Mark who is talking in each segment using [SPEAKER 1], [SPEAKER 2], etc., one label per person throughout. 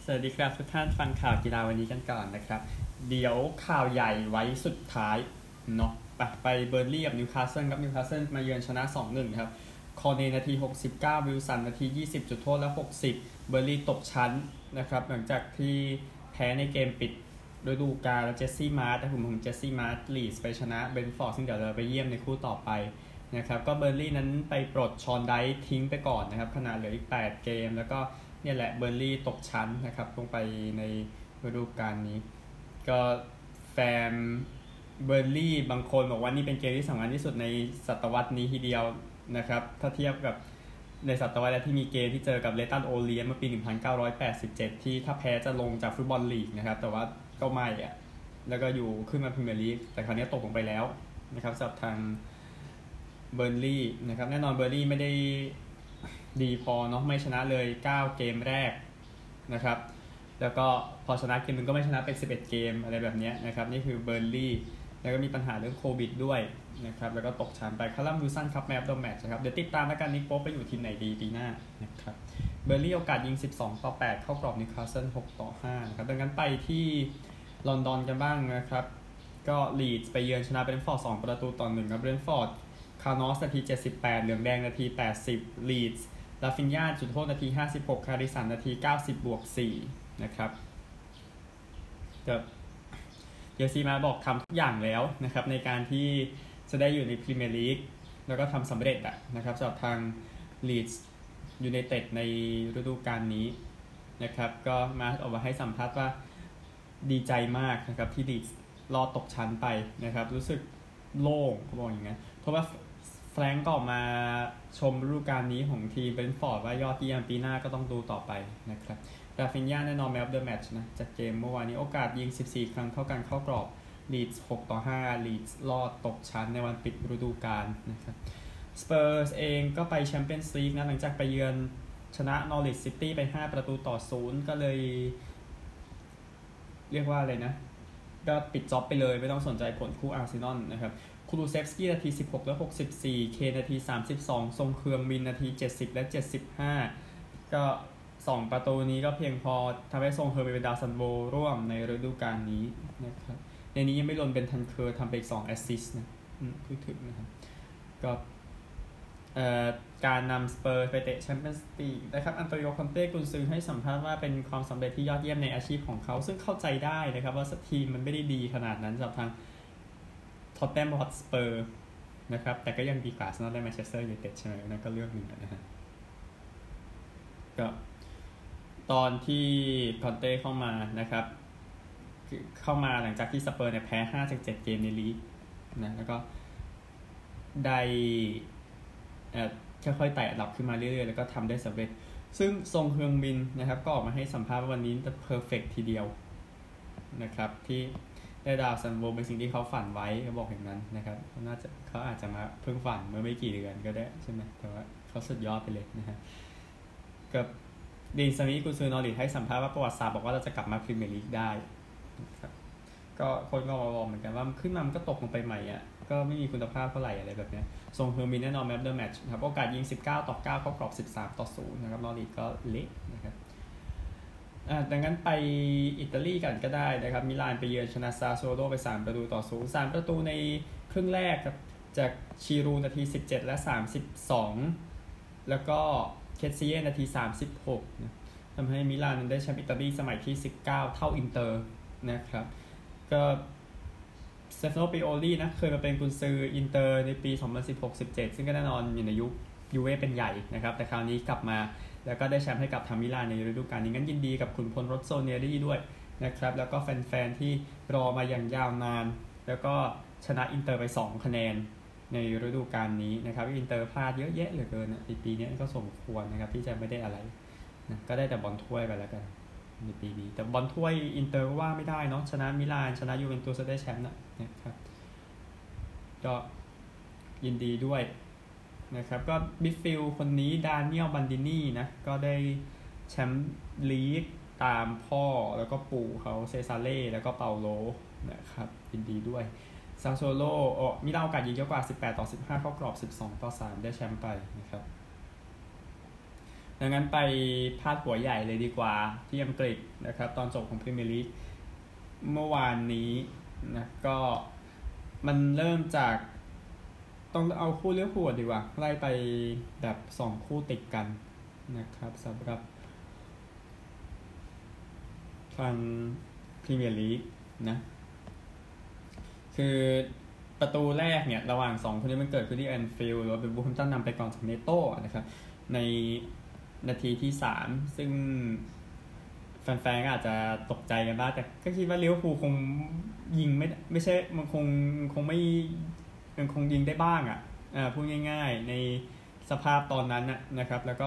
[SPEAKER 1] วัสดีครับทุกท่านฟังข่าวกีฬาวันนี้กันก่อนนะครับเดี๋ยวข่าวใหญ่ไว้สุดท้ายเนาะไปเบอร์นลี่กับนิวคาสเซิลครับนิวคาสเซิลมาเยือนชนะ 2-1 ครับคอเนนาที69วิลสันนาที20จุดโทษและ60เบอร์นลี่ตกชั้นนะครับหลังจากที่แพ้ในเกมปิดฤดูกาลเจสซี่มาร์ตกลุ่มของเจสซี่มาร์ตลีดส์ไปชนะเบรนท์ฟอร์ดซึ่งเดี๋ยวเราไปเยี่ยมในคู่ต่อไปนะครับก็เบอร์นลี่นั้นไปปลดชอนไดท์ทิ้งไปก่อนนะครับขณะเหลืออีก8เกมแล้วก็เนี่ยแหละเบอร์นลี่ตกชั้นนะครับลงไปในฤดูกาลนี้ก็แฟนเบอร์นลี่บางคนบอกว่านี่เป็นเกมที่สำคัญที่สุดในศตวรรษนี้ทีเดียวนะครับถ้าเทียบกับในศตวรรษที่มีเกมที่เจอกับเลตันโอเลียนเมื่อปี 1987 ที่ถ้าแพ้จะลงจากฟุตบอลลีกนะครับแต่ว่าก็ไม่อ่ะแล้วก็อยู่ขึ้นมาพรีเมียร์ลีกแต่คราวนี้ตกลงไปแล้วนะครับสำหรับทางเบอร์นลี่นะครับแน่นอนเบอร์นลี่ไม่ได้ดีพอเนาะไม่ชนะเลย9เกมแรกนะครับแล้วก็พอชนะเกมนึงก็ไม่ชนะเป็น11เกมอะไรแบบนี้นะครับนี่คือเบอร์นลี่แล้วก็มีปัญหาเรื่องโควิดด้วยนะครับแล้วก็ตกชั้นไปคาร์ลัมวิลสันครับแมปโดแมตช์นะครับเดี๋ยวติดตามแล้วกันนิกโป๊ปไปอยู่ทีมไหนดีปีหน้านะครับเบอร์นลี่โอกาสยิง12-8เข้ากรอบนิวคาสเซิล6-5นะครับดังนั้นไปที่ลอนดอนกันบ้างนะครับก็ลีดส์ไปเยือนชนะเบรนท์ฟอร์ด2-1ครับเบรนท์ฟอร์ดคาร์นอสนาที78เหลืองแดงนาที80ลีดส์ลาฟินญาจุดโทษนาที56คาริสันนาที90+4นะครับเยซีมาบอกทำทุกอย่างแล้วนะครับในการที่จะได้อยู่ในพรีเมียร์ลีกแล้วก็ทำสำเร็จนะครับสำหรับทางลีดส์ยูไนเต็ดในฤดูกาลนี้นะครับก็มาออกมาให้สัมภาษณ์ว่าดีใจมากนะครับที่ลีดส์รอดตกชั้นไปนะครับรู้สึกโล่งเขาบอกอย่างนั้นเพราะว่าแฟรงก์ก็ออกมาชมฤดูกาลนี้ของทีมเบรนท์ฟอร์ดว่ายอดเยี่ยมปีหน้าก็ต้องดูต่อไปนะครับราฟินญาแน่นอนแมนออฟเดอะแมตช์นะจากเกมเมื่อวานนี้โอกาสยิง14ครั้งเท่ากันเข้ากรอบลีดส์6-5ลีดส์รอดตกชั้นในวันปิดฤดูกาลนะครับสเปอร์สเองก็ไปแชมเปี้ยนส์ลีกนะหลังจากไปเยือนชนะนอริทซิตี้ไป5-0ก็เลยเรียกว่าอะไรนะก็ปิดจ็อบไปเลยไม่ต้องสนใจผลคู่อาร์เซนอลนะครับคูลูเซฟสกี้นาที16และ64เคนาที32ทรงเครืองมินนาที70และ75ก็2ประตูนี้ก็เพียงพอทำให้ทรงเคอร์เป็นดาวซันโวร่วมในฤดูกาลนี้นะครับในนี้ยังไม่รวมเป็นทันเคอร์ทำไปอีก2แอสซิสต์นะพูดถึงนะครับก็การนำสเปอร์ไปเตะแชมเปี้ยนส์ลีกนะครับอันโตนิโอ คอนเต้กุนซือให้สัมภาษณ์ว่าเป็นความสำเร็จที่ยอดเยี่ยมในอาชีพของเขาซึ่งเข้าใจได้นะครับว่าทีมมันไม่ได้ดีขนาดนั้นสำหรับทางท็อตแนมฮอตสเปอร์นะครับแต่ก็ยังดีกว่าอาร์เซนอลได้แมนเชสเตอร์ยูไนเต็ดใช่ไหมนั่นก็เรื่องหนึ่งนะฮะก็ตอนที่คอนเต้เข้ามานะครับเข้ามาหลังจากที่สเปอร์เนี่ยแพ้5 จาก 7เกมในลีกนะแล้วก็ได้ค่อยๆไต่อันดับขึ้นมาเรื่อยๆแล้วก็ทำได้สำเร็จซึ่งซงเฮืองมินนะครับก็ออกมาให้สัมภาษณ์ว่าวันนี้จะเพอร์เฟกต์ทีเดียวนะครับที่ได้ดาวซันโวเป็นสิ่งที่เขาฝันไว้เขาบอกอย่างนั้นนะครับเขาอาจจะมาเพิ่งฝันเมื่อไม่กี่เดือนก็ได้ใช่ไหมแต่ว่าเขาสุดยอดไปเลยนะฮะกับดีนสมิธกุนซือนอริทให้สัมภาษณ์ว่าประวัติศาสตร์บอกว่าเราจะกลับมาพรีเมียร์ลีกได้นะครับก็คนก็บอกเหมือนกันว่าขึ้นมามันก็ตกลงไปใหม่ก็ไม่มีคุณภาพเท่าไหร่อะไรแบบนี้ทรงเฮอร์มินแน่นอนแมปเดอร์แมตช์ครับโอกาสยิง19-9เข้ากรอบ13-0นะครับนอริทก็เละนะครับดังนั้นไปอิตาลีกันก็ได้นะครับมิลานไปเยือนชนะซาโซโลไป3-0 3ประตูในครึ่งแรกครับจากชิรูนาที17และ32แล้วก็เคสซิเย่นาที36นะทำให้มิลานนั้นได้แชมป์อิตาลีสมัยที่19เท่าอินเตอร์นะครับก็สเตฟานโน ปิโอลีนะเคยมาเป็นกุนซืออินเตอร์ในปี 2016-17 ซึ่งก็แน่นอนอยู่ในยุคยูเว่เป็นใหญ่นะครับแต่คราวนี้กลับมาแล้วก็ได้แชมป์ให้กับทางมิลานในฤดูกาลนี้งั้นยินดีกับขุนพลโรสโซเนรี่ด้วยนะครับแล้วก็แฟนๆที่รอมาอย่างยาวนานแล้วก็ชนะอินเตอร์ไป2คะแนนในฤดูกาลนี้นะครับอินเตอร์พลาดเยอะแยะเหลือเกินปีนี้ก็สมควรนะครับที่จะไม่ได้อะไรนะก็ได้แต่บอลถ้วยไปแล้วกันในปีนี้แต่บอลถ้วยอินเตอร์ก็ว่าไม่ได้เนาะชนะมิลานชนะยูเวนตุสได้แชมป์นะครับก็ยินดีด้วยนะครับก็มิดฟิลด์คนนี้ดานิเอลบันดินีนะก็ได้แชมป์ลีกตามพ่อแล้วก็ปู่เขาเซซาเล่แล้วก็เปาโลนะครับยินดีด้วยซาโซโลมีโอกาสยิงเยอะกว่า18-15เข้ากรอบ12-3ได้แชมป์ไปนะครับดังนั้นไปพาดหัวใหญ่เลยดีกว่าที่อังกฤษนะครับตอนจบของพรีเมียร์ลีกเมื่อวานนี้นะก็มันเริ่มจากต้องเอาคู่เลี้ยวหัวดีกว่าไล่ไปแบบ2คู่ติดกันนะครับสำหรับทางพรีเมียร์ลีกนะคือประตูแรกเนี่ยระหว่าง2คนนี้มันเกิดขึ้นที่แอนฟิลด์แล้วเป็นบูฮัมตันนำไปก่อนจากเนโต้นะครับในนาทีที่3ซึ่งแฟนๆก็อาจจะตกใจกันบ้างแต่ก็คิดว่าลิเวอร์พูลคงยิงไม่ใช่มันคงไม่มันคงยิงได้บ้างพูดง่ายๆในสภาพตอนนั้นนะครับแล้วก็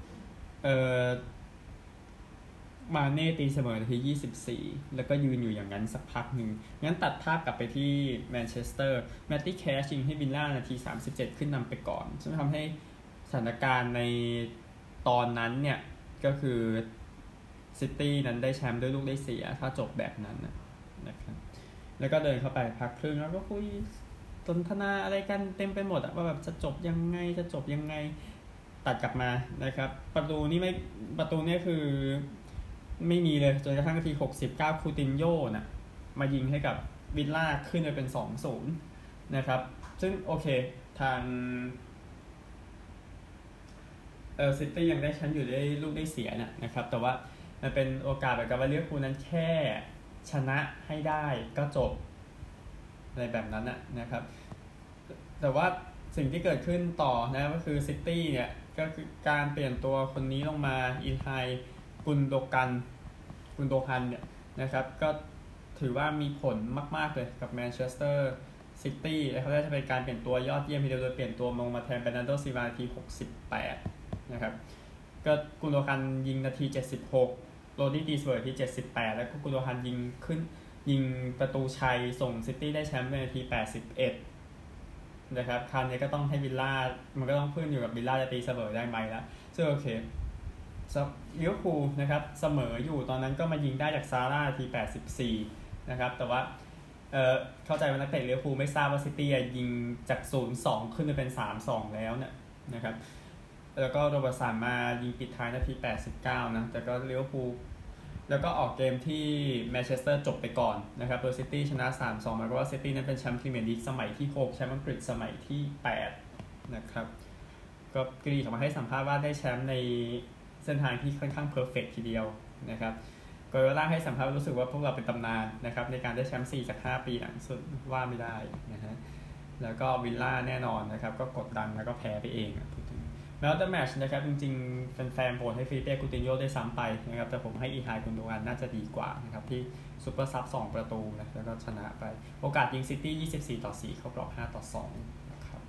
[SPEAKER 1] มาเน่ตีเสมอนาที24แล้วก็ยืนอยู่อย่างนั้นสักพักหนึ่งงั้นตัดภาพกลับไปที่แมนเชสเตอร์แมตตี้แคชยิงให้วิลล่านาที37ขึ้นนำไปก่อนซึ่งทำให้สถานการณ์ในตอนนั้นเนี่ยก็คือซิตี้นั้นได้แชมป์ด้วยลูกได้เสียถ้าจบแบบนั้นนะครับแล้วก็เดินเข้าไปพักครึ่งแล้วก็คุยสนทนาอะไรกันเต็มไปหมดว่าแบบจะจบยังไงตัดกลับมานะครับประตูนี้คือไม่มีเลยจนกระทั่งนาที69คูตินโญ่มายิงให้กับวิลล่าขึ้นไปเป็น 2-0 นะครับซึ่งโอเคทางซิตี้ยังได้แชมป์อยู่ได้ลูกได้เสียนะครับแต่ว่ามันเป็นโอกาสแบบกับว่าลิเวอร์พูลนั้นแค่ชนะให้ได้ก็จบอะไรแบบนั้นนะครับแต่ว่าสิ่งที่เกิดขึ้นต่อนะก็คือซิตี้เนี่ยก็คือการเปลี่ยนตัวคนนี้ลงมาอินไฮกุนโดฮันเนี่ยนะครับก็ถือว่ามีผลมากๆเลยกับแมนเชสเตอร์ซิตี้และเขาจะเป็นการเปลี่ยนตัวยอดเยี่ยมทีเดียวโดยเปลี่ยนตัวลงมาแทนเบรนันโดซิลวานาที68นะครับก็กุนโดฮันยิงนาที76โรดี้ตีเสมอที่78แล้วก็กุนโดฮันยิงประตูชัยส่งซิตี้ได้แชมป์ในนาที81นะครับคราวนี้ก็ต้องให้วิลล่ามันก็ต้องพึ่งอยู่กับวิลล่าจะตีเสมอได้ไหมแล้วซึ่งโอเคลิเวอร์พูลนะครับเสมออยู่ตอนนั้นก็มายิงได้จากซาร่าที84นะครับแต่ว่าเข้าใจว่านักเตะลิเวอร์พูลไม่ทราบว่าซิตี้ยิงจาก 0-2 ขึ้นไปเป็น 3-2 แล้วนะครับแล้วก็โรเบิร์ตสันมายิงปิดท้ายนาที89นะแต่ก็ลิเวอร์พูลแล้วก็ออกเกมที่แมนเชสเตอร์จบไปก่อนนะครับโดยซิตี้ชนะ 3-2 หมายความว่าซิตี้นั้นเป็นแชมป์พรีเมียร์ลีกสมัยที่6แชมป์อังกฤษสมัยที่8นะครับก็กรีกออกมาให้สัมภาษณ์ว่าได้แชมป์ในเส้นทางที่ค่อนข้างเพอร์เฟกต์ทีเดียวนะครับกอยล่าให้สัมภาษณ์รู้สึกว่าพวกเราเป็นตำนานนะครับในการได้แชมป์4จาก5ปีหลังสุดว่าไม่ได้นะฮะแล้วก็วิลล่าแน่นอนนะครับก็กดดันแล้วก็แพ้ไปเองพูดถึงแล้วแต่แมตช์นะครับจริงๆแฟนๆโหวตให้ฟิลิเป้กูตินโญ่ได้ซ้ำไปนะครับแต่ผมให้อีไฮกุนโดกันน่าจะดีกว่านะครับที่ซุปเปอร์ซับ2ประตูนะแล้วก็ชนะไปโอกาสยิงซิตี้24-4เข้ากรอบ5-2นะครับ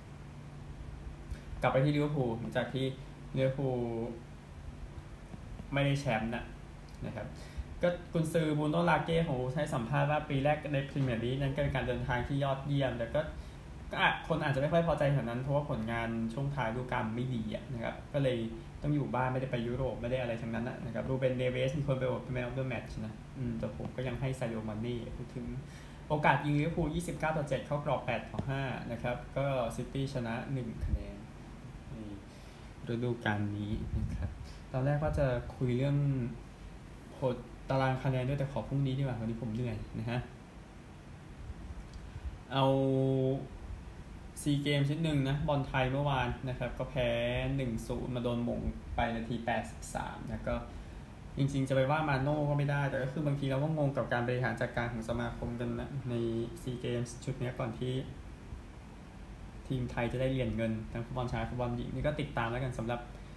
[SPEAKER 1] กลับไปที่ลิเวอร์พูลหลังจากที่ลิเวอร์พูลไม่ได้แชมป์นะครับก็กุนซือบูโน่ลาเก้ของให้สัมภาษณ์ว่าปีแรกในพรีเมียร์ลีกนั้นเป็นการเดินทางที่ยอดเยี่ยมแต่ก็คนอาจจะไม่ค่อยพอใจขนาดนั้นเพราะว่าผลงานช่วงท้ายฤดูกาลไม่ดีนะครับก็เลยต้องอยู่บ้านไม่ได้ไปยุโรปไม่ได้อะไรทั้งนั้นนะครับรูเบนเนเวสมีคนไปโหวตเป็นแมนออฟเดอะแมตช์นะแต่ผมก็ยังให้ซาดิโอ มาเน่พูดถึงโอกาสยิงลิเวอร์พูล29-7เข้ากรอบ8-5นะครับก็ซิตี้ชนะ1คะแนนในฤดูกาลนี้นะครับตอนแรกว่าจะคุยเรื่องตารางคะแนนด้วยแต่ขอพรุ่งนี้ดีกว่าวันนี้ผมเหนื่อยนะฮะเอาซีเกมชิ้นหนึ่งนะบอลไทยเมื่อวานนะครับก็แพ้ 1-0 มาโดนหม่งไปนาที83นะก็จริงๆจะไปว่ามาโน่ก็ไม่ได้แต่ก็คือบางทีเราก็งงกับการบริหารจัดการของสมาคมกันนะในซีเกมชุดนี้ก่อนที่ทีมไทยจะได้เหรียญเงินทั้งฟุตบอลชายฟุตบอลหญิงนี่ก็ติดตามแล้วกันสำหรับ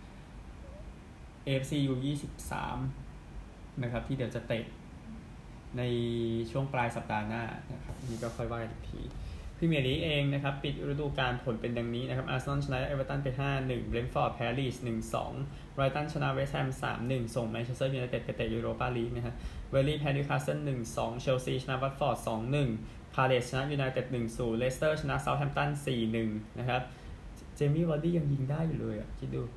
[SPEAKER 1] AFC U23นะครับที่เดี๋ยวจะเตะในช่วงปลายสัปดาห์หน้านะครับนี่ก็ค่อยว่ากันอีกทีพรีเมียร์ลีกเองนะครับปิดฤดูกาลผลเป็นดังนี้นะครับอาร์เซนอลชนะเอเวอร์ตันไป 5-1 เบรนท์ฟอร์ดแพ้ลีดส์ 1-2 ไบรตันชนะเวสต์แฮม 3-1 ส่งแมนเชสเตอร์ยูไนเต็ดไปเตะยูโรปาลีกนะฮะเวอร์ลี่แพ้นิวคาสเซิล 1-2 เชลซีชนะวัตฟอร์ด 2-1 พาเลสชนะยูไนเต็ด 1-0 เลสเตอร์ชนะเซาท์แฮมป์ตัน 4-1 นะครับเจมี่วาร์ดี้ยังยิงได้อยู่เลยคิดดู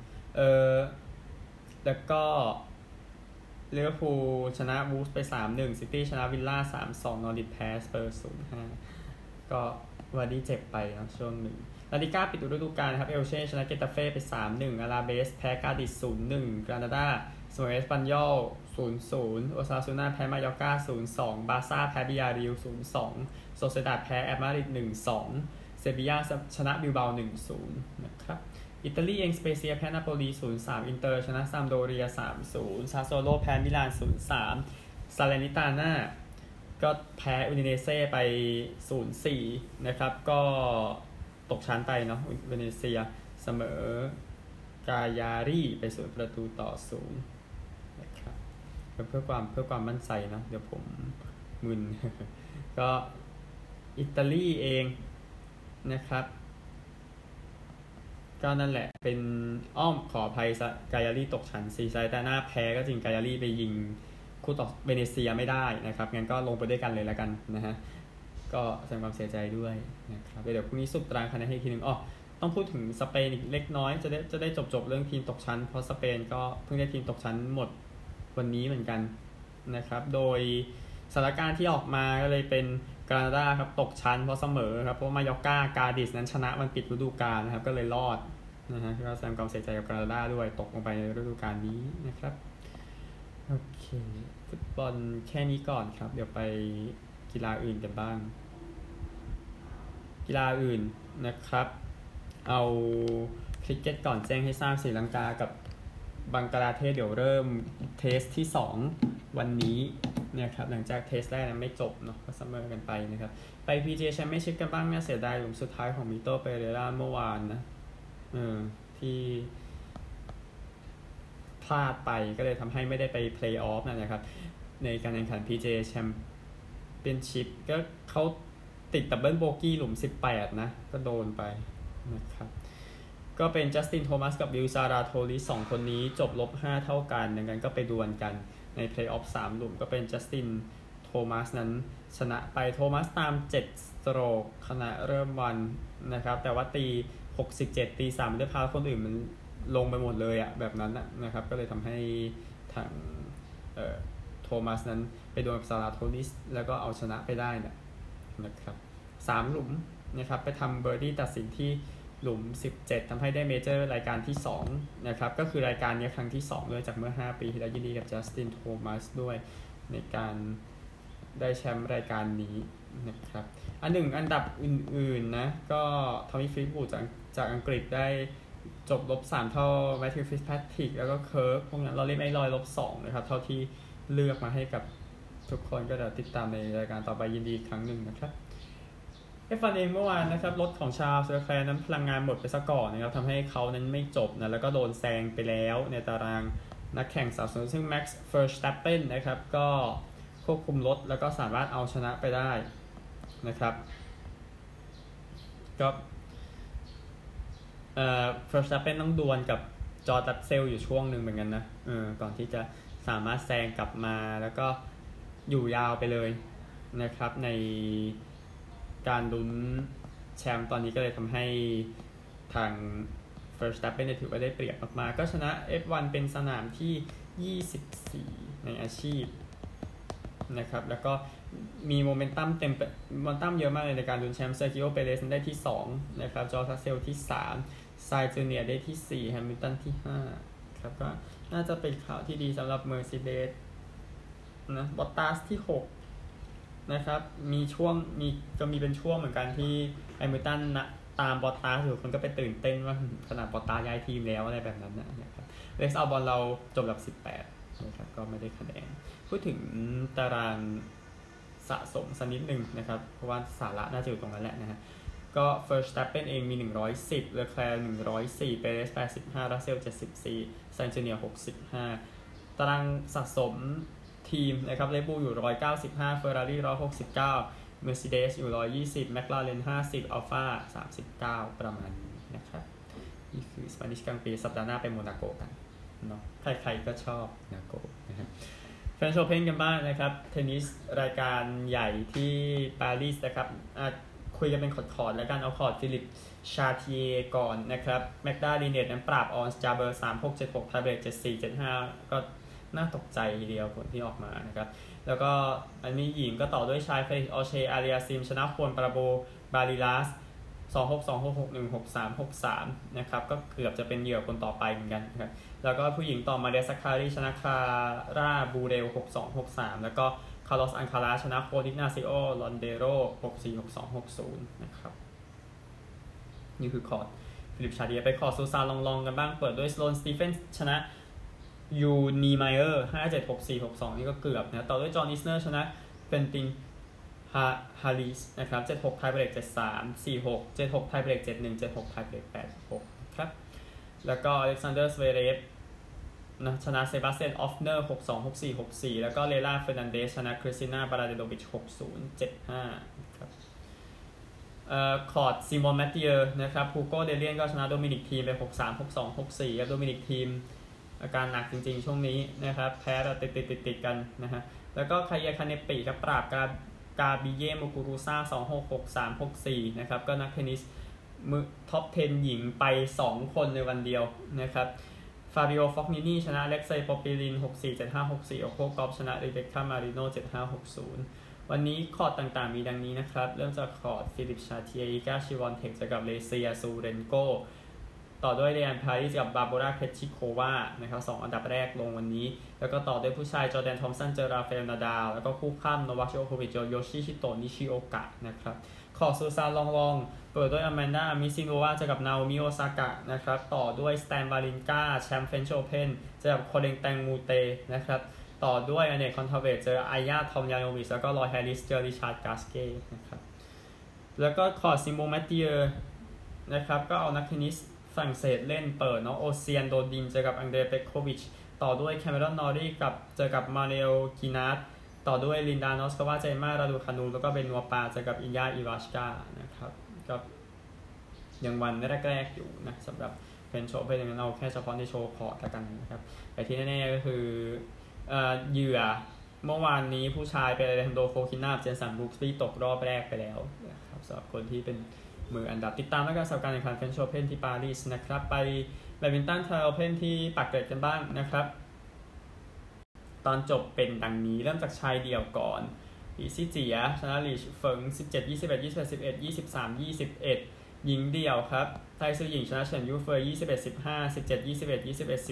[SPEAKER 1] แล้วก็ลิเวอร์พูลชนะวูฟส์ไป 3-1 ซิตี้ชนะวิลล่า 3-2 นอริทแพ้สเปอร์ 0-5 ก็วาร์ดี้เจ็บไปนะช่วงหนึ่งลาลิก้าปิดฤดูกาลนะครับเอลเช่ชนะเกตาเฟ่ไป 3-1 อาราเบสแพ้กาดิส 0-1 กรานาดาเสมอเอสปันยอล 0-0 โอซาซูน่าแพ้มายอร์กา 0-2 บาร์ซ่าแพ้บิยาริล 0-2 โซเซดาดแพ้แอตมาดริด 1-2 เซบีย่าชนะบิลเบา 1-0 นะครับอิตาลีเองสเปเซียแพ้นาโปลี 0-3 อินเตอร์ชนะซัมโดเรีย 3-0 ซาโซโลแพ้มิลาน 0-3 ซาเลนิตาน่าก็แพ้อูดิเนเซ่ไป 0-4 นะครับก็ตกชั้นไปเนาะเวเนเซียเสมอกายารีไป0-0นะครับเพื่อความมั่นใจเนาะเดี๋ยวผมมึน ก็อิตาลีเองนะครับก็นั่นแหละเป็นขออภัยกายารีตกชั้นซีไซตาน่าแพ้ก็จริงกายารีไปยิงคู่ต่อเวเนเซียไม่ได้นะครับงั้นก็ลงไปด้วยกันเลยแล้วกันนะฮะก็แสดงความเสียใจด้วยนะครับเดี๋ยวพรุ่งนี้สรุปตารางคะแนนให้ทีนึงต้องพูดถึงสเปนอีกเล็กน้อยจะได้จบเรื่องทีมตกชั้นเพราะสเปนก็เพิ่งได้ทีมตกชั้นหมดวันนี้เหมือนกันนะครับโดยสถานการณ์ที่ออกมาก็เลยเป็นกรานาดาครับตกชั้นเพราะเสมอครับเพราะมายอร์กากาดิสนั้นชนะมันปิดฤดูกาลนะครับก็เลยรอดนะฮะก็แสดงความเสียใจกับกรานาดาด้วยตกลงไปในฤดูกาลนี้นะครับโอเคฟุตบอลแค่นี้ก่อนครับเดี๋ยวไปกีฬาอื่นกันบ้างกีฬาอื่นนะครับเอาคริกเก็ตก่อนแจ้งให้ทราบศรีลังกากับบังกลาเทศเดี๋ยวเริ่มเทสที่2วันนี้นะครับหลังจากเทสแรกนั้นไม่จบเนาะก็เสมอกันไปนะครับไป PGA Championship กันบ้างเนี่ยเสียดายหลุมสุดท้ายของมิโตเปเรราเมื่อวานนะที่พลาดไปก็เลยทำให้ไม่ได้ไปเพลย์ออฟนะครับในการแข่งขัน PGA Championship ก็เขาติดดับเบิลโบกี้หลุม18นะก็โดนไปนะครับก็เป็นจัสตินโทมัสกับวิลซาราโทลิส2คนนี้จบ-5เท่ากันดังนั้นก็ไปดวลกันในเพลย์ออฟ3หลุมก็เป็นจัสตินโทมัสนั้นชนะไปโทมัสตาม7สโตรกขณะเริ่มวันนะครับแต่ว่าตี67ตี3ด้วยพาคนอื่นมันลงไปหมดเลยอะแบบนั้นนะครับก็เลยทำให้ทางโทมัสนั้นไปดวลกับซาราโทลิสแล้วก็เอาชนะไปได้นะครับ3หลุมนะครับไปทำเบอร์ดี้ตัดสินที่หลุม17ทำให้ได้เมเจอร์รายการที่2นะครับก็คือรายการนี้ครั้งที่2ด้วยจากเมื่อ5ปีที่แล้วยินดีกับจัสตินโทมัสด้วยในการได้แชมป์รายการนี้นะครับอันดับอื่นๆนะก็ทอมมี่ฟิลิปปูจากอังกฤษได้จบ-3เท่าแมทธิวฟิตซ์แพทริกแล้วก็เคิร์กพวกนั้นเราเล่นไม่ลอย-2นะครับเท่าที่เลือกมาให้กับทุกคนก็เดี๋ยวติดตามในรายการต่อไปยินดีครั้งหนึ่งนะครับF1 เองเมื่อวานนะครับรถของชาร์ลส์ เลอแคลร์นั้นพลังงานหมดไปซะก่อนนะครับทำให้เขานั้นไม่จบนะแล้วก็โดนแซงไปแล้วในตารางนักแข่งสาวสวยซึ่ง Max Verstappen นะครับก็ควบคุมรถแล้วก็สามารถเอาชนะไปได้นะครับก็Verstappen ต้องดวลกับจอร์จ รัสเซลอยู่ช่วงหนึ่งเหมือนกันนะก่อนที่จะสามารถแซงกลับมาแล้วก็อยู่ยาวไปเลยนะครับในการลุ้นแชมป์ตอนนี้ก็เลยทำให้ทาง Verstappen ถือว่าได้เปรียบมากๆก็ชนะ F1 เป็นสนามที่24ในอาชีพนะครับแล้วก็มีโมเมนตัมเยอะมากเลยในการลุ้นแชมป์เซอร์กิโอ เปเรสได้ที่2นะครับจอร์จ รัสเซลที่3ไซน์จูเนียร์ได้ที่4แฮมิลตันที่5ครับก็น่าจะเป็นข่าวที่ดีสำหรับ Mercedes นะบอตตาสที่6นะครับมีเป็นช่วงเหมือนกันที่แฮมิลตันนะตามบอตตาสอยู่คนก็ไปตื่นเต้นว่าขนาดบอตตาย้ายทีมแล้วอะไรแบบนั้นนะครับเล็กซ์อัลบอนเราจบ18นะครับก็ไม่ได้คะแนนพูดถึงตารางสะสมสักนิดนึงนะครับเพราะว่าสาระน่าจะอยู่ตรงนั้นแหละนะฮะก็ Verstappen เองมี110 Leclerc 104 Perez 85 Russell 74 Sainz Jr. 65ตารางสะสมทีมนะครับ Red Bull อยู่195 Ferrari 169 Mercedes อยู่120 McLaren 50 Alfa 39ประมาณนี้นะครับนี่คือ Spanish Grand Prix สัปดาห์หน้าไปโมนาโกกันเนาะใครๆก็ชอบโมนาโกนะครับแฟนโชว์เพนกันบ้างนะครับเทนนิสรายการใหญ่ที่ปารีสนะครับคุยกันเป็นคอร์ดแล้วกันเอาคอร์ดฟิลิปชาเทียก่อนนะครับแมกดาลีเนตนั้นปราบออนสจาเบอร์ 3-6 7-6 ไทเบรก 7-4 7-5ก็น่าตกใจทีเดียวผลที่ออกมานะครับแล้วก็อันนี้หญิงก็ต่อด้วยชายเฟลิกซ์ ออเช อาเรียซิมชนะควอนปาราโบบาริลัส2626616363นะครับก็เกือบจะเป็นเหยื่อคนต่อไปเหมือนกันนะครับแล้วก็ผู้หญิงต่อมาเดซักคารีชนะคาร่าบูเรล6263แล้วก็คาร์ลอสอันคาราชนะโคดินาซิโอลอนเดโร646260นะครับนี่คือคอร์ดฟิลิปชาเดียไปคอร์ดซูซานลองกันบ้างเปิดด้วยสโลนสตีเฟนชนะยูนีไมเออร์576462นี่ก็เกือบนะต่อด้วยจอห์นอิสเนอร์ชนะเฟนติงฮาริสนะครับ76ไทยเบรก73 46 76ไทยเบรก71 76ไทยเบรก86ครับแล้วก็อเล็กซานเดอร์สเวเรฟนะชนะเซบาสเตียนออฟเนอร์626464แล้วก็เลล่าเฟร์นันเดสชนะคริสติน่าบาราเดโดวิช6075ครับคอร์ดซิมอนแมตติเออร์นะครับฮูโก้เดเลียนก็ชนะโดมินิกทีมไป636264ครับโดมินิกทีมอาการหนักจริงๆช่วงนี้นะครับแพ้แบบติดกันนะฮะแล้วก็คาเยคาเนปิครับปราบกาบิเย่โมกุรุซ่า266364นะครับก็นักเทนนิสมือท็อป10หญิงไป2คนในวันเดียวนะครับฟาบิโอฟอกนินีชนะเล็กไซปอปิลิน647564โอโคกอฟชนะริเบคก้ามาริโน7560วันนี้คอร์ดต่างๆมีดังนี้นะครับเริ่มจากคอร์ดฟิลิปชาเทียอิกาชิวอนเทคเจอกับเลเซียซูเรนโกต่อด้วยเรียนพาริสกับบาโบราเคชิโควานะครับ2อันดับแรกลงวันนี้แล้วก็ต่อด้วยผู้ชายจอร์แดนทอมสันเจอราฟาเอลนาดาลแล้วก็คู่ข้ามโนวาคโจโควิชโยชิชิโตะนิชิโอกะนะครับคอร์ดซูซานลองเปิดด้วยอแมนดามิซิโนวาเจอกับนาโอมิโอซากะนะครับต่อด้วยสแตนวาลินกาแชมป์เฟรนช์โอเพ่นเจอกับโคเดงแตงมูเตนะครับต่อด้วยอเนกคอนทาเวตเจออายาทอมยานโนวิชแล้วก็ลอยแฮร์ริสเจอริชาร์ดกาสเก้นะครับแล้วก็คอร์ดซิโมแมตติเออร์นะครับก็เอานักเทนนิสฝรั่งเศสเล่นเปิดเนาะโอเซียนโดดินเจอกับอังเดรเปโควิชต่อด้วยแคมเมรอนนอรีกับเจอกับมาเรโอกินาร์ต่อด้วยลินดานอสกาวาเจมาราดูคานูแล้วก็เบนัวปาเจอกับอิยาอิวาชกานะครับก็ยังวันแรกๆอยู่นะสำหรับเป็นโชว์เป็นอย่างนั้นเราแค่เฉพาะในโชว์คอร์ดกันนะครับแต่ที่แน่ๆก็คือเหยื่อเมื่อวานนี้ผู้ชายเป็นอเลฮันโดโฟคินาเจนสันบรูคส์ที่ตกรอบแรกไปแล้วนะครับสำหรับคนที่เป็นมืออันดับติดตามแล้วก็สำหรับการแข่งขันเฟรนช์โอเพ่นที่ปารีสนะครับไปแบดมินตันไทยโอเพ่นที่ปากเกร็ดกันบ้างนะครับตอนจบเป็นดังนี้เริ่มจากชายเดี่ยวก่อนอีซี่เจียชนะลีเฟิง17 21 21 11 23 21หญิงเดี่ยวครับไทยซื่อหญิงชนะเฉินยูเฟย21 15 17 21 21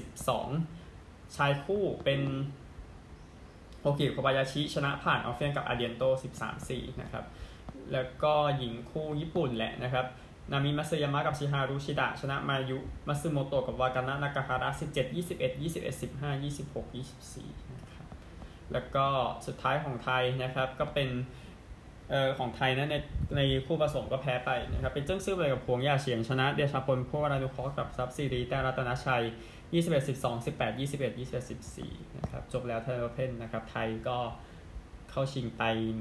[SPEAKER 1] 12ชายคู่เป็นโฮกิโคบายาชิชนะผ่านออฟเฟียนกับอาเดียนโต 13-4 นะครับแล้วก็หญิงคู่ญี่ปุ่นแหละนะครับนามิมัตสึยามะกับชิฮารุชิดะชนะมายุมัตสึโมโตะกับวากานะนากาฮาระ17 21 21 15 26 24นะครับแล้วก็สุดท้ายของไทยนะครับก็เป็นของไทยนะในคู่ผสมก็แพ้ไปนะครับเป็นเจิ้งซื่อเว่ยกับพวงย่าเฉียงชนะเดชาพลผู้วรานุเคราะห์กับซับซีรีแต่รัตนชัย21 12 18 21 21 14นะครับจบแล้วไทยโอเพ่นนะครับไทยก็เข้าชิงไป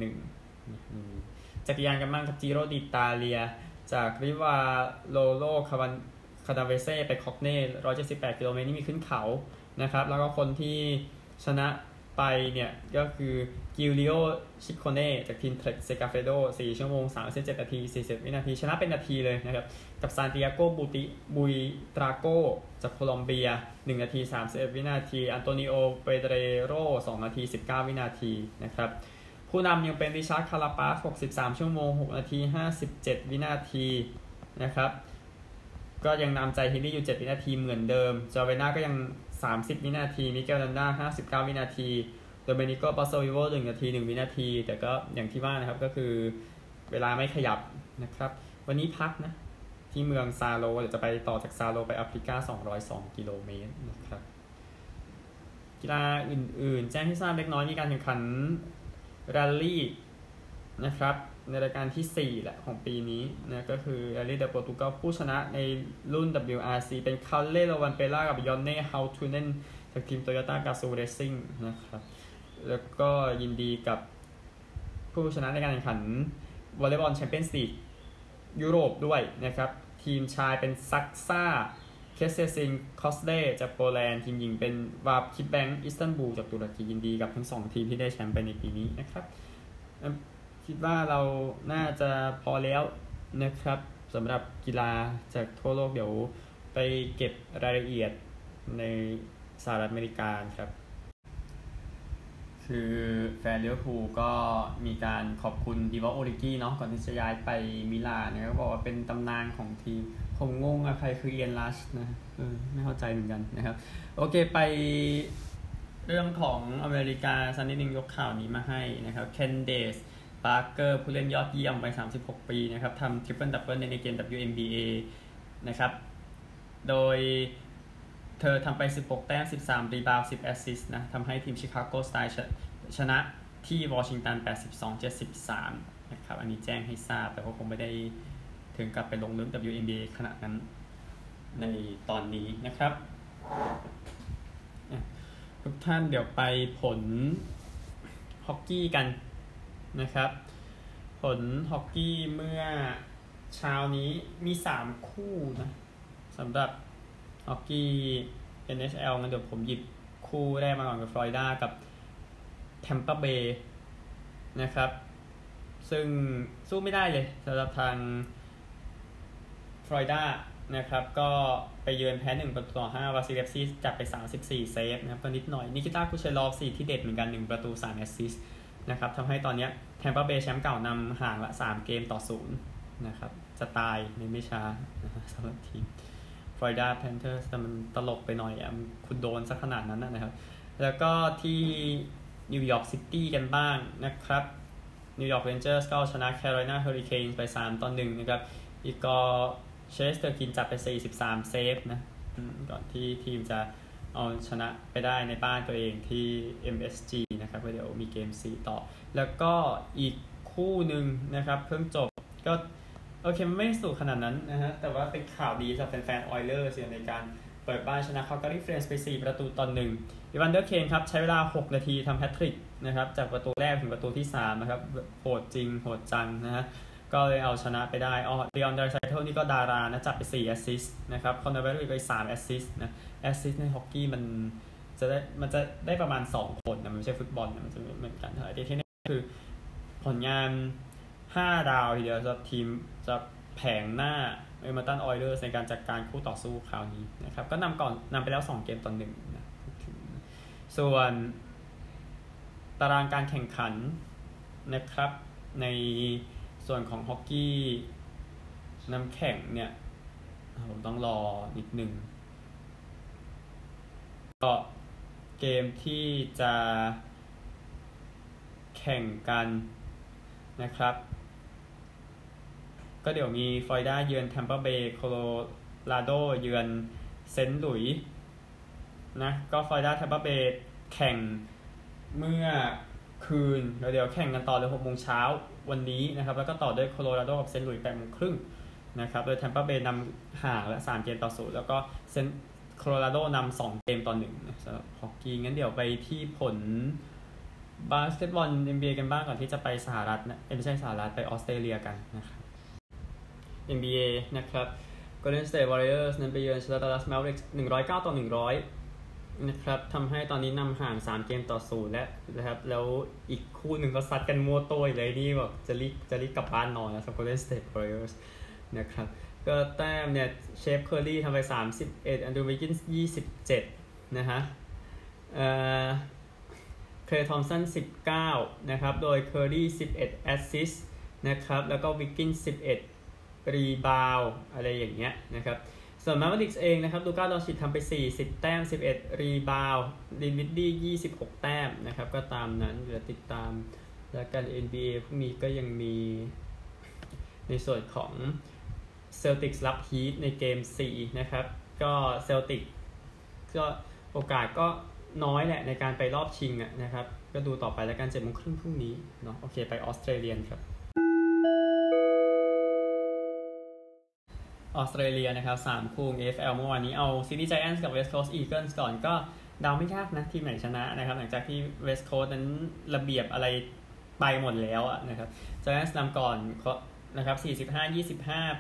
[SPEAKER 1] 1จักรยานกันบ้างกับจิโรดิตาเลียจากริวาโลโลคาดาเวเซ่ไปคอกเน่178กิโลเมตรนี่มีขึ้นเขานะครับแล้วก็คนที่ชนะไปเนี่ยก็คือกิลิโอชิโคเน่จากทีมเทรคเซกาเฟโด4ชั่วโมง37นาที40วินาทีชนะเป็นนาทีเลยนะครับกับซานติอาโกบุยตราโกจากโคลอมเบีย1นาที31วินาทีอันโตนิโอเปเดโร2นาที19วินาทีนะครับผู้นำยังเป็นริชาร์ดคาราปาส63ชั่วโมง6นาที57วินาทีนะครับก็ยังนำใจฮิลลี่อยู่7วินาทีเหมือนเดิมจอเวน่าก็ยัง30วินาทีมิเกลลันดา59วินาทีโดเมนิโกปาโซวิโว1นาที1วินาทีแต่ก็อย่างที่ว่านะครับก็คือเวลาไม่ขยับนะครับวันนี้พักนะที่เมืองซาโลเดี๋ยวจะไปต่อจากซาโลไปแอฟริกา202กิโลเมตรนะครับกีฬาอื่นๆแจ้งให้ทราบเล็กน้อยมีการแข่งขันแรลลี่นะครับในรายการที่4แหละของปีนี้นะก็คือแรลลี่เดโปรตุเกสผู้ชนะในรุ่น WRC เป็นคาเล่โรวันเปล่ากับยอนเน่เฮาทูเนนจากทีมโตโยต้ากาซูเรซซิ่งนะครับแล้วก็ยินดีกับผู้ชนะในการแข่งขันวอลเลย์บอลแชมเปี้ยนส์ลีกยุโรปด้วยนะครับทีมชายเป็นซักซ่าเคสเซซิงคอสเล่จากโปแลนด์ทีมหญิงเป็นวาบคิปแบงก์อิสตันบูลจากตุรกียินดีกับทั้ง2ทีมที่ได้แชมป์ไปในปีนี้นะครับคิดว่าเราน่าจะพอแล้วนะครับสำหรับกีฬาจากทั่วโลกเดี๋ยวไปเก็บรายละเอียดในสหรัฐอเมริกาครับคคือแฟนลิเวอร์พูลก็มีการขอบคุณดิวอโอริกี้เนาะก่อนที่จะย้ายไปมิลานนะครับบอกว่าเป็นตำนานของทีมผมงงใครคือเอียนลัชนะไม่เข้าใจเหมือนกันนะครับโอเคไปเรื่องของอเมริกาซันนิดนึงยกข่าวนี้มาให้นะครับเคนเดสปาร์เกอร์ผู้เล่นยอดเยี่ยมวัย36 ปีนะครับทำทริปเปิลดับเบิลในเกม WNBA นะครับโดยเธอทำไป16 แต้ม 13 รีบาวด์ 10 แอสซิสต์นะทำให้ทีมชิคาโกสไตล์ชนะที่วอชิงตัน 82-73 นะครับอันนี้แจ้งให้ทราบแต่ว่าคงไม่ได้ถึงกับไปลงลึก WNBA ขนาดนั้นในตอนนี้นะครับทุกท่านเดี๋ยวไปผลฮอกกี้กันนะครับผลฮอกกี้เมื่อเช้านี้มี3คู่นะสำหรับฮอกกี้ NHL งั้นเดี๋ยวผมหยิบคู่แรกมาก่อนกับฟลอริดากับแทมปาเบย์นะครับซึ่งสู้ไม่ได้เลยสำหรับทางฟลอริดานะครับก็ไปเยือนแพ้1-5วาซิเลฟซีจับไป34เซฟนะครับก็นิดหน่อยนิคิต้าคูเชลอฟ4ที่เด็ดเหมือนกัน1ประตู3แอสซิสต์นะครับทำให้ตอนนี้แทมปาเบย์แชมป์เก่านำห่างละ3เกมต่อ0นะครับจะตายในไม่ช้าสำหรับทีมฟลอริดาแพนเทอร์สแต่มันตลกไปหน่อยคุณโดนสักขนาดนั้นนะครับแล้วก็ที่นิวยอร์กซิตี้กันบ้างนะครับนิวยอร์กเรนเจอร์สก็ชนะแคโรไลนาเฮอริเคนส์ไป3-1นะครับอีกก็เชสเตอร์กินจับไป43เซฟนะก่อนที่ทีมจะเอาชนะไปได้ในบ้านตัวเองที่ MSG นะครับเดี๋ยวมีเกม4ต่อแล้วก็อีกคู่หนึ่งนะครับเพิ่งจบก็โอเคไม่สูงขนาดนั้นนะฮะแต่ว่าเป็นข่าวดีสำหรับแฟนๆออยเลอร์ในการเปิดบ้านชนะคาลการีเฟรนซ์ไป4-1อีวานเดอร์เคนครับใช้เวลา6นาทีทำแฮตทริกนะครับจากประตูแรกถึงประตูที่3นะครับโหดจริงโหดจังนะฮะก็เลยเอาชนะไปได้ลีออน ไดรไซเคิลนี่ก็ดารานะจับไป4แอสซิสต์นะครับคอนเนอร์เบอร์ไป3แอสซิสต์นะแอสซิสต์ในฮอกกี้มันจะได้ประมาณ2คนนะมันไม่ใช่ฟุตบอลนะมันจะเหมือนกันแต่ที่นี่คือผลงาน5 ดาวทีเดียวสำหรับทีมจะแผงหน้าเอเมอร์ตันออยเลอร์ในการจัดการคู่ต่อสู้คราวนี้นะครับก็นำไปแล้ว2เกมต่อ1นะส่วนตารางการแข่งขันนะครับในส่วนของฮอกกี้น้ำแข็งเนี่ยผมต้องรอนิดนึงก็เกมที่จะแข่งกันนะครับก็เดี๋ยวมีฟลอริดาเยือนแทมปาเบย์โคโลราโดเยือนเซนต์หลุยส์นะก็ฟลอริดาแทมปาเบย์แข่งเมื่อคืนแล้วเดี๋ยวแข่งกันต่อเลย6 โมงเช้าวันนี้นะครับแล้วก็ต่อด้วยโคโลราโดกับเซนต์หลุยส์8 โมงครึ่งนะครับโดยแทมปาเบย์นำห่างละ3เกมต่อ0แล้วก็โคโลราโดนำ2เกมต่อ1นะสำหรับฮอกกี้งั้นเดี๋ยวไปที่ผลบาสเกตบอล NBA กันบ้างก่อนที่จะไปสหรัฐนะไม่ใช่สหรัฐไปออสเตรเลียกันนะครับ NBA นะครับ Golden State Warriors นั้นไปเยือน Dallas Mavericks 109-100นะครับทำให้ตอนนี้นำห่าง3เกมต่อ0แล้วนะครับแล้วอีกคู่หนึ่งก็ซัดกันมั่วตัวเลยนี่แบบจะรีบกลับบ้านนอนนะสำหรับ Golden State Warriors นะครับก็แต้มเนี่ยเชฟเคอร์รี่ทำไป31แอนดรูว์ วิกกินส์27นะฮะเคลย์ ทอมสัน19นะครับโดยเคอร์รี่11แอสซิสต์นะครับแล้วก็วิกกินส์11รีบาวอะไรอย่างเงี้ยนะครับส่วนแมเวริกส์เองนะครับลูก้า ดอนชิตทำไป40แต้ม11รีบาวดินวิดดี้26แต้มนะครับก็ตามนั้นเดี๋ยวติดตามแล้วกัน NBA พรุ่งนี้ก็ยังมีในส่วนของเซลติกส์รับฮีทในเกม4นะครับก็เซลติกก็โอกาสก็น้อยแหละในการไปรอบชิงนะครับก็ดูต่อไปแล้วกัน 7:30 น.พรุ่งนี้เนาะโอเคไปออสเตรเลียครับออสเตรเลียนะครับ3คู่ AFL เมื่อวานนี้เอาซิดนีย์ไจแอนท์กับ West Coast Eagles ก่อนก็เดาไม่ยากนะทีมไหนชนะนะครับหลังจากที่ West Coast นั้นระเบียบอะไรไปหมดแล้วนะครับ Giants นำก่อนนะครับ45-25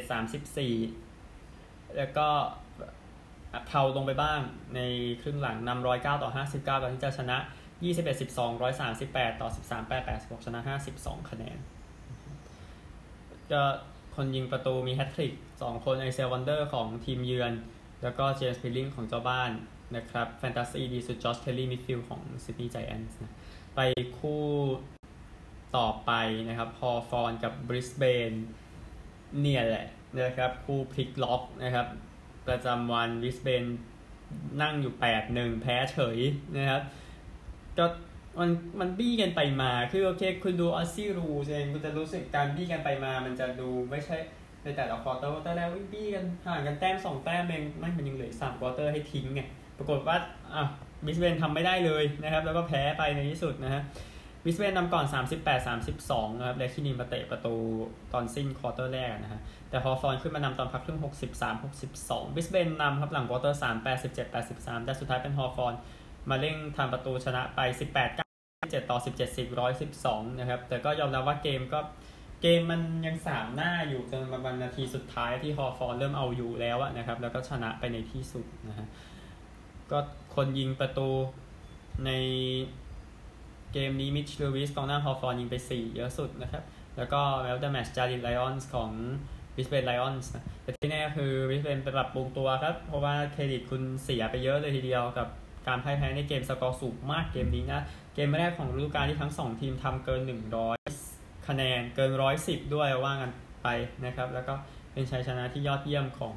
[SPEAKER 1] 87-34แล้วก็เทาลงไปบ้างในครึ่งหลังนำ109-59ก่อนที่จะชนะ21-12 138-13 8-86ชนะ52คะแนนก็คนยิงประตูมีแฮตทริก2คนไอเซลวันเดอร์ของทีมเยือนแล้วก็เจมส์พิลลิงของเจ้าบ้านนะครับแฟนตาซีดีสุดจอร์จเคลลี่มิดฟิลด์ของซิดนีย์ไจแอนท์นะไปคู่ต่อไปนะครับฮอฟอร์นกับบริสเบนเนี่ยแหละนะครับคู่พลิกล็อกนะครับประจำวันบริสเบนนั่งอยู่ 8-1 แพ้เฉยนะครับก็มันบี้กันไปมาคือโอเคคุณดูออสซี่รูเองคุณจะรู้สึกการบี้กันไปมามันจะดูไม่ใช่ในแต่ละควอเตอร์แรกบี้กันห่างกันแต้ม2แต้มเองไม่มันยังเหลือ3ควอเตอร์ให้ทิ้งไงปรากฏว่าบริสเบนทำไม่ได้เลยนะครับแล้วก็แพ้ไปในที่สุดนะฮะบริสเบนนำก่อน 38-32 นะครับและคินีมาเตะประตูตอนสิ้นควอเตอร์แรกนะฮะแต่ฮอฟอร์นขึ้นมานำตอนพักครึ่ง 63-62 บริสเบนนำครับหลังควอเตอร์3 87-83 แต่สุดท้ายเป็นฮอฟอร์นมาเร่งทำประตูชนะไป 18-17-17-10-112 นะครับแต่ก็ยอมรับว่าเกมมันยัง3หน้าอยู่จนมานาทีสุดท้ายที่ฮอฟอร์นเริ่มเอาอยู่แล้วนะครับแล้วก็ชนะไปในที่สุดนะฮะก็คนยิงประตูในเกมนี้มิชลูวิสกองหน้าฮอฟอร์นยิงไป4เยอะสุดนะครับแล้วก็แมตช์แมตช์จารินไลออนส์ของบริสเบนไลออนส์นะแต่ที่แน่คือบริสเบนไปปรับปรุงตัวครับเพราะว่าเครดิตคุณเสียไปเยอะเลยทีเดียวกับการพ่ายแพ้ในเกมสกอร์สูงมากเกมนี้นะเกมแรกของฤดูกาลที่ทั้ง2ทีมทำเกิน100คะแนนเกิน110ด้วยว่ากันไปนะครับแล้วก็เป็นชัยชนะที่ยอดเยี่ยมของ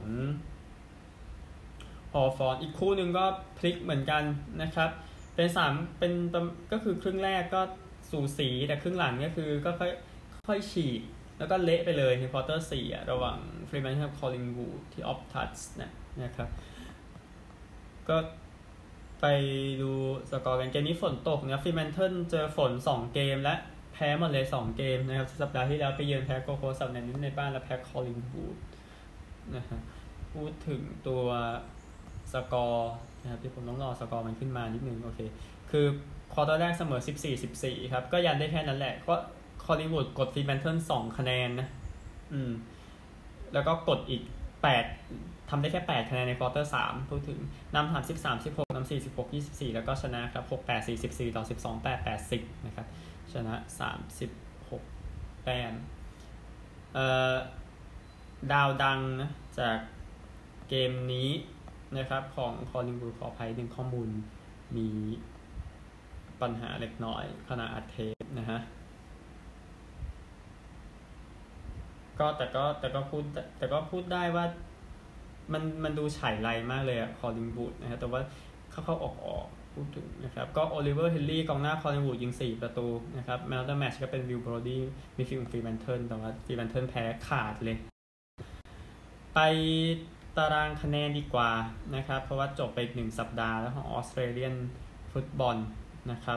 [SPEAKER 1] ฮอฟอร์นอีกคู่นึงก็พลิกเหมือนกันนะครับเป็นก็คือครึ่งแรกก็สูสีแต่ครึ่งหลังก็คือก็ค่อยฉีกแล้วก็เละไปเลยในควอเตอร์4ระหว่างฟรีแมนกับคอลลิงวูดที่ออฟทัชนะครับก็ไปดูสกอร์กันเกมนี้ฝนตกนะฟรีแมนเทิลเจอฝน2เกมและแพ้หมดเลย2เกมนะครับสัปดาห์ที่แล้วไปเยือนแพ้โกโคสับในนี้ในบ้านแล้วแพ้คอลลิงวูดนะฮะพูดถึงตัวสกอร์นะครับที่ผมต้องรอสกอร์มันขึ้นมานิดนึงโอเคคือควอเตอร์แรกเสมอ 14-14 ครับก็ยันได้แค่นั้นแหละก็คอลลิงวูดกดฟรีแมนเทิล2คะแนนนะแล้วก็กดอีก8ทำได้แค่8คะแนนในควอเตอร์3พูดถึงนำ33-16นำ46-24แล้วก็ชนะครับ6-8 44ต่อ12-8 80นะครับชนะ36แต้มดาวดังนะจากเกมนี้นะครับของคอลลิงวูดขออภัยดึงข้อมูลมีปัญหาเล็กน้อยขณะอัดเทปนะฮะก็แต่ก็พูดได้ว่ามันดูฉายไรมากเลยอะคอลลิงวูดนะครับแต่ว่าเข้าออกพูดถึงนะครับก็โอลิเวอร์เฮนรี่กองหน้าคอลลิงวูดยิง4ประตูนะครับแมตช์แมตช์ก็เป็นวิลโบรดี้มีฟิลฟรีแมนเทิลแต่ว่าฟรีแมนเทิลแพ้ขาดเลยไปตารางคะแนนดีกว่านะครับเพราะว่าจบไปอีก1สัปดาห์แล้วของออสเตรเลียนฟุตบอลนะครับ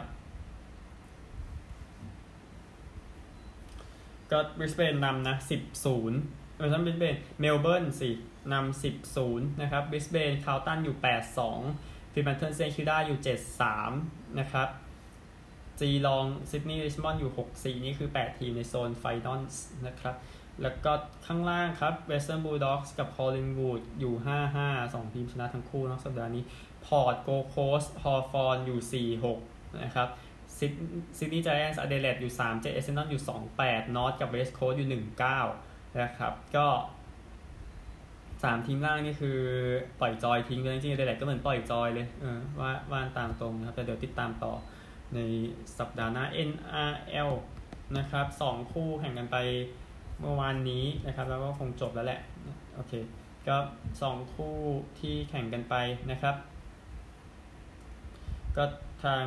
[SPEAKER 1] ก็บริสเบนนำนะ10-0ท่านบริสเบนเมลเบิร์นสินำ10-0นะครับบริสเบนคาวตันอยู่8-2ฟรีแมนเทิลเซนคิวด้าอยู่7-3นะครับจีลองซิดนีย์ริชมอนด์อยู่6-4นี่คือ8ทีมในโซนไฟนอลนะครับแล้วก็ข้างล่างครับเวสเทิร์นบูลด็อกส์กับคอลลิงวูดอยู่ 5-5 2ทีมชนะทั้งคู่นะสัปดาห์นี้พอร์ตโกลด์โคสต์ฮอฟอร์นอยู่4-6นะครับซิดนีย์ไจแอนท์อเดเลดอยู่3-7เอเซนตันอยู่2-8นอร์ทกับเวสต์โคสต์อยู่1-9นะครับก็3ทีมล่างนี่คือปล่อยจอยทิ้งเลยจริงๆอเดเลดก็เหมือนปล่อยจอยเลยว่าตามตรงนะครับแต่เดี๋ยวติดตามต่อในสัปดาห์หน้า NRL นะครับ2คู่แข่งกันไปเมื่อวานนี้นะครับแล้วก็คงจบแล้วแหละโอเคก็2คู่ที่แข่งกันไปนะครับก็ทาง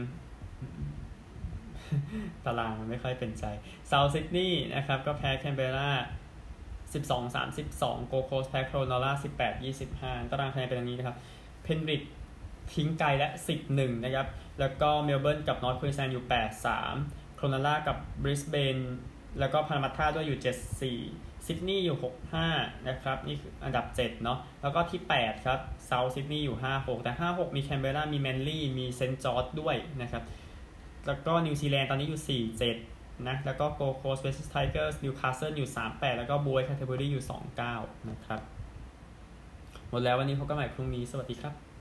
[SPEAKER 1] ตารางมันไม่ค่อยเป็นใจเซาท์ซิดนีย์นะครับก็แพ้แคนเบรา 12-32 โกโคสแพ้โครนอล่า 18-25 ตารางคะแนนเป็นอย่างนี้นะครับเพนบริดจ์ทิ้งไกลและ 10-1 นะครับแล้วก็เมลเบิร์นกับนอร์ทควีนส์แลนด์อยู่ 8-3 โครนอล่ากับบริสเบนแล้วก็พารามัตทาด้วยอยู่ 7-4 ซิดนีย์อยู่ 6-5 นะครับนี่คืออันดับ7เนาะแล้วก็ที่8ครับเซาท์ซิดนีย์อยู่ 5-6 แต่ 5-6 มีแคนเบรามีแมนลี่มีเซนต์จอร์จด้วยนะครับแล้วก็นิวซีแลนด์ตอนนี้อยู่ 4-7 นะแล้วก็โกโคสเวสต์ไทเกอร์สนิวคาสเซิลอยู่ 3-8 แล้วก็บวยแคนเทอร์เบอรี่อยู่ 2-9 นะครับหมดแล้ววันนี้พบกันใหม่พรุ่งนี้สวัสดีครับ